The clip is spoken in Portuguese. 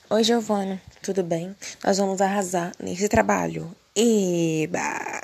Oi, Giovana, tudo bem? Nós vamos arrasar nesse trabalho. Eba!